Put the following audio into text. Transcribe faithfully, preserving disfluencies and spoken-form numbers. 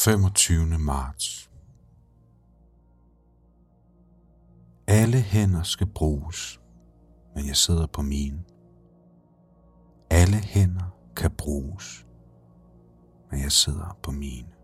femogtyvende marts. Alle hænder skal bruges, men jeg sidder på mine. Alle hænder kan bruges, men jeg sidder på mine.